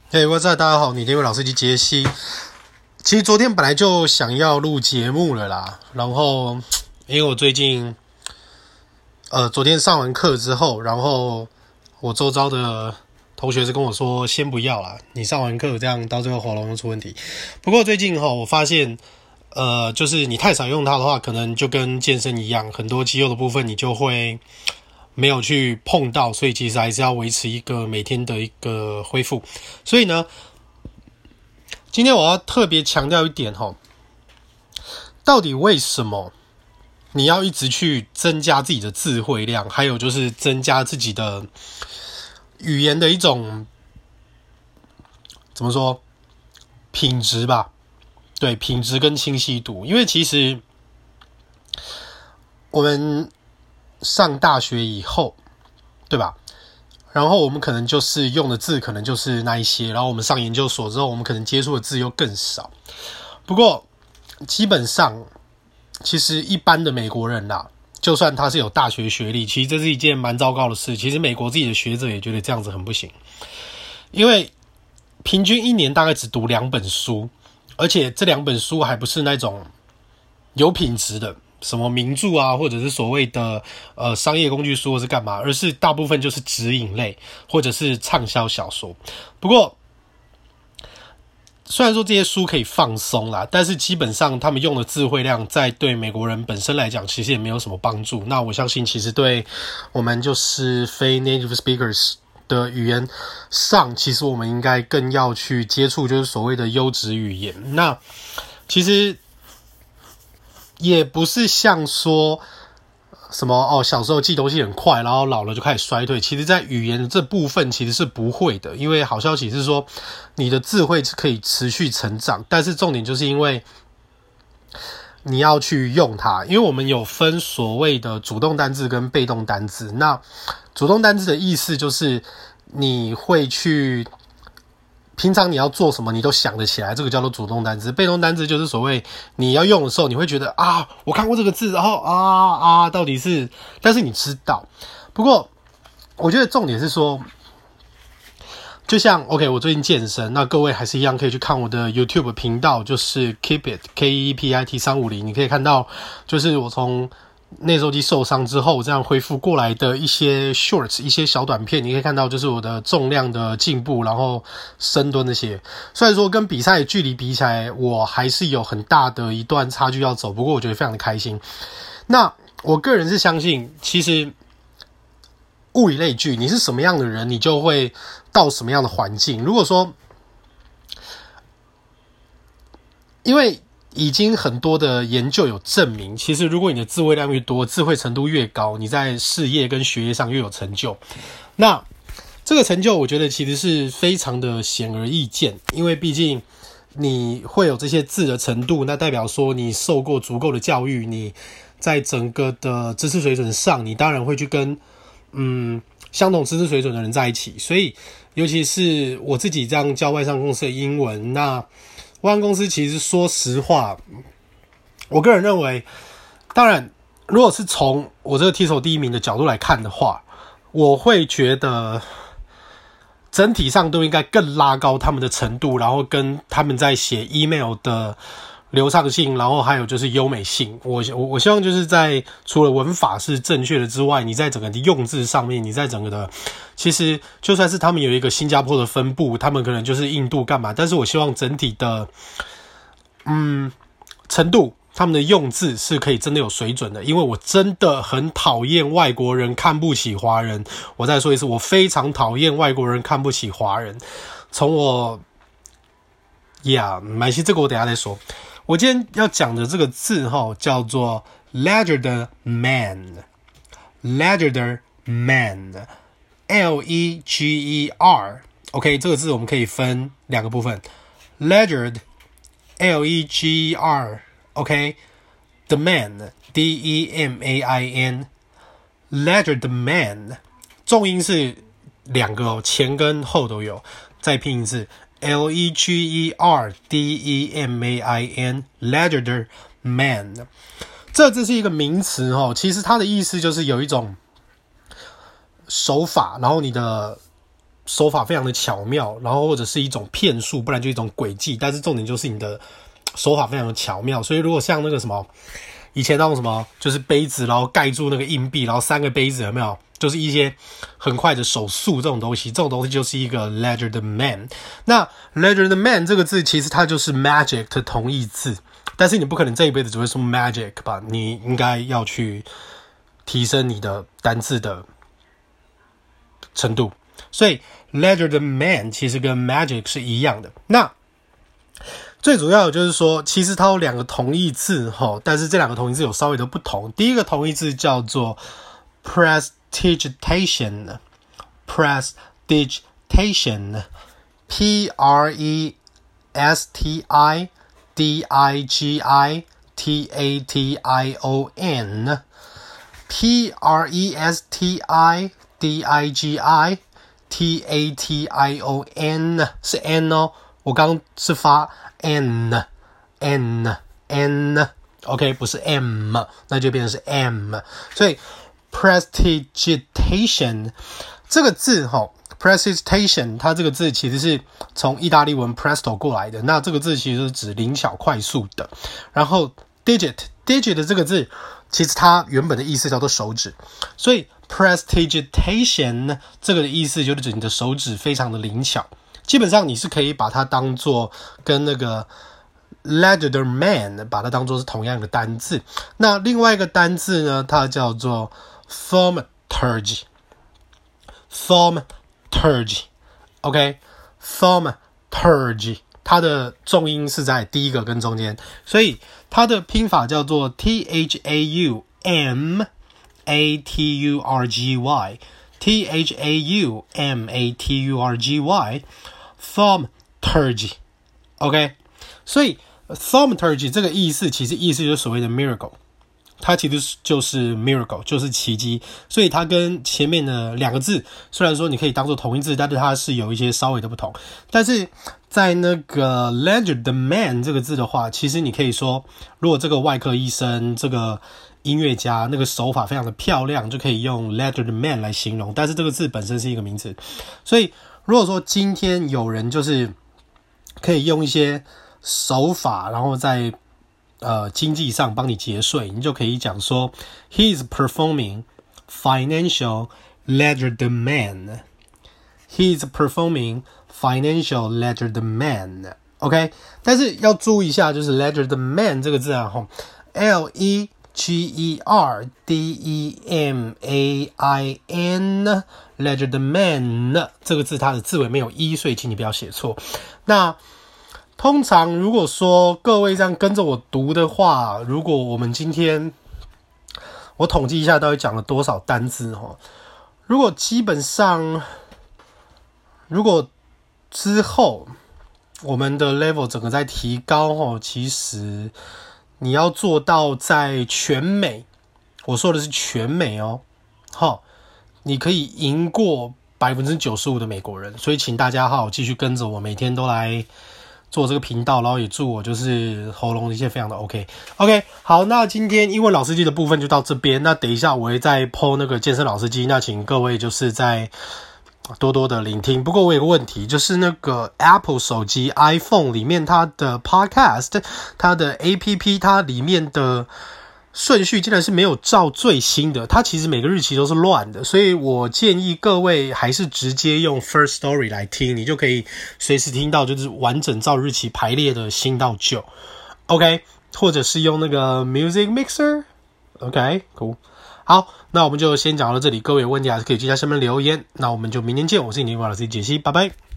嘿，What's up，大家好，你的英文老師機傑西。其實昨天本來就想要錄節目了啦，然後因為我最近昨天上完課之後，然後我周遭的同學是跟我說先不要啦，你上完課這樣到最後喉嚨又出問題。不過最近我發現就是你太少用它的話，可能就跟健身一樣，很多肌肉的部分你就會沒有去碰到，所以其實還是要維持一個每天的一個恢復。所以呢，今天我要特別強調一點到底為什麼你要一直去增加自己的詞彙量，還有就是增加自己的語言的一種怎麼說品質吧？對，品質跟清晰度。因為其實我們上大學以後，對吧？然後我們可能就是用的字可能就是那一些，然後我們上研究所之後，我們可能接觸的字又更少。不過基本上，其實一般的美國人啦，就算他是有大學學歷，其實這是一件蠻糟糕的事。其實美國自己的學者也覺得這樣子很不行，因為平均一年大概只讀2本書，而且這2本書還不是那種有品質的。什麼名著啊，或者是所謂的商業工具書，或是幹嘛，而是大部分就是指引類或者是暢銷小說。不過雖然說這些書可以放鬆啦，但是基本上他們用的詞彙量在對美國人本身來講其實也沒有什麼幫助。那我相信其實對我們就是非 native speakers 的語言上，其實我們應該更要去接觸就是所謂的優質語言。那其實也不是像說什麼小時候記東西很快，然後老了就開始衰退。其實在語言的這部分其實是不會的，因為好消息是說你的智慧是可以持續成長，但是重點就是因為你要去用它。因為我們有分所謂的主動單字跟被動單字。那主動單字的意思就是你會去平常你要做什麼你都想得起來，這個叫做主動單字。被動單字就是所謂你要用的時候你會覺得我看過這個字，然後到底是，但是你知道。不過我覺得重點是說，就像 OK 我最近健身，那各位還是一樣可以去看我的 YouTube 頻道，就是 Keep It KEEPIT 350，你可以看到就是我從內收肌受傷之後這樣恢復過來的一些 shorts， 一些小短片，你可以看到就是我的重量的進步，然後深蹲那些。雖然說跟比賽的距離比起來我還是有很大的一段差距要走，不過我覺得非常的開心。那我個人是相信其實物以類聚，你是什麼樣的人你就会到什麼樣的環境。如果說因為已經很多的研究有證明，其實如果你的詞彙量越多，智慧程度越高，你在事業跟學業上越有成就。那這個成就我覺得其實是非常的顯而易見，因為畢竟你會有這些字的程度，那代表說你受過足夠的教育，你在整個的知識水準上，你當然會去跟相同知識水準的人在一起。所以尤其是我自己這樣教外商公司的英文，那外商公司其實說實話，我個人認為，當然如果是從我這個 TESOL 第1名的角度來看的話，我會覺得整體上都應該更拉高他們的程度，然後跟他們在寫 email 的流暢性，然後還有就是優美性。我希望就是在除了文法是正確的之外，你在整個的用字上面，你在整個的其實就算是他們有一個新加坡的分部，他們可能就是印度幹嘛，但是我希望整體的程度，他們的用字是可以真的有水準的。因為我真的很討厭外国人看不起華人。我再說一次，我非常討厭外國人看不起華人。從我没關係，這個我等一下再說。我今天要講的這個字叫做 Leger Man， Leger Man， L-E-G-E-R。 OK， 這個字我們可以分2個部分， Leger L-E-G-E-R OK， The Man D-E-M-A-I-N Leger the Man， 重音是2個前跟後都有，再拼一次L-E-G-E-R-D-E-M-A-I-N Leger the Man。 這是一個名詞其實它的意思就是有一種手法，然後你的手法非常的巧妙，然後或者是一種騙術，不然就一種詭計，但是重點就是你的手法非常的巧妙。所以如果像那個什麼以前那種什麼就是杯子然後蓋住那個硬幣，然後3個杯子有沒有，就是一些很快的手速這種東西，這種東西就是一個 Ledger the Man。那 Ledger the Man 這個字其實它就是 magic 的同義字，但是你不可能這一輩子只會說 magic 吧，你應該要去提升你的單字的程度。所以 Ledger the Man 其實跟 magic 是一樣的。那最主要的就是說，其實它有2個同義字，但是這2個同義字有稍微的不同。第一個同義字叫做 prestidigitation， prestidigitation， P-R-E-S-T-I-D-I-G-I-T-A-T-I-O-N， P-R-E-S-T-I-D-I-G-I-T-A-T-I-O-N 是 N 哦，我剛剛是發 N OK 不是 M， 那就變成是 M， 所以 prestidigitation 這個字prestidigitation 它這個字其實是從意大利文 presto 過來的，那這個字其實是指靈巧快速的。然後 digit 的這個字其實它原本的意思叫做手指，所以 prestidigitation 這個的意思就是指你的手指非常的靈巧。基本上你是可以把它當作跟那個 Ledger the Man 把它當作是同樣的單字。那另外一個單字呢，它叫做 thaumaturgy OK thaumaturgy 它的重音是在第一個跟中間，所以它的拼法叫做 THAUMATURGY thaumaturgy OK， 所以 thaumaturgy 這個意思其實意思就是所謂的 miracle， 它其實就是 miracle 就是奇蹟，所以它跟前面的2個字雖然說你可以當做同義字，但是它是有一些稍微的不同。但是在那個 Ledger the Man 這個字的話，其實你可以說如果這個外科醫生這個音樂家那個手法非常的漂亮，就可以用 Ledger the Man 來形容，但是這個字本身是一個名詞，所以如果說今天有人就是可以用一些手法，然後在經濟上幫你節稅，你就可以講說 He is performing financial Ledger the Man， He is performing financial Ledger the Man OK， 但是要注意一下，就是 Ledger the Man 這個字啊L-E-G-E-R-D-E-M-A-I-N Ledger the Man 這個字它的字尾沒有 E， 所以請你不要寫錯。那通常如果說各位這樣跟着我讀的話，如果我們今天我統計一下到底講了多少單字，如果基本上如果之後我們的 level 整個在提高，其實你要做到在全美，我說的是全美你可以贏過 95% 的美國人，所以請大家好好繼續跟着我，每天都來做這個頻道，然後也祝我就是喉嚨一切非常的 OK。好，那今天英文老司機的部分就到這邊，那等一下我會再 po 那個健身老司機，那請各位就是在多多的聆聽。不過我有個問題，就是那個 Apple 手機 iPhone 裡面它的 Podcast 它的 APP 它裡面的順序竟然是沒有照最新的，它其實每個日期都是亂的，所以我建議各位還是直接用 First Story 來聽，你就可以隨時聽到就是完整照日期排列的新到舊 OK， 或者是用那個 Music Mixer OK cool。 好，那我們就先講到這裡，各位有問題還是可以記在下面留言，那我們就明天見，我是你的英文老師傑西，拜拜。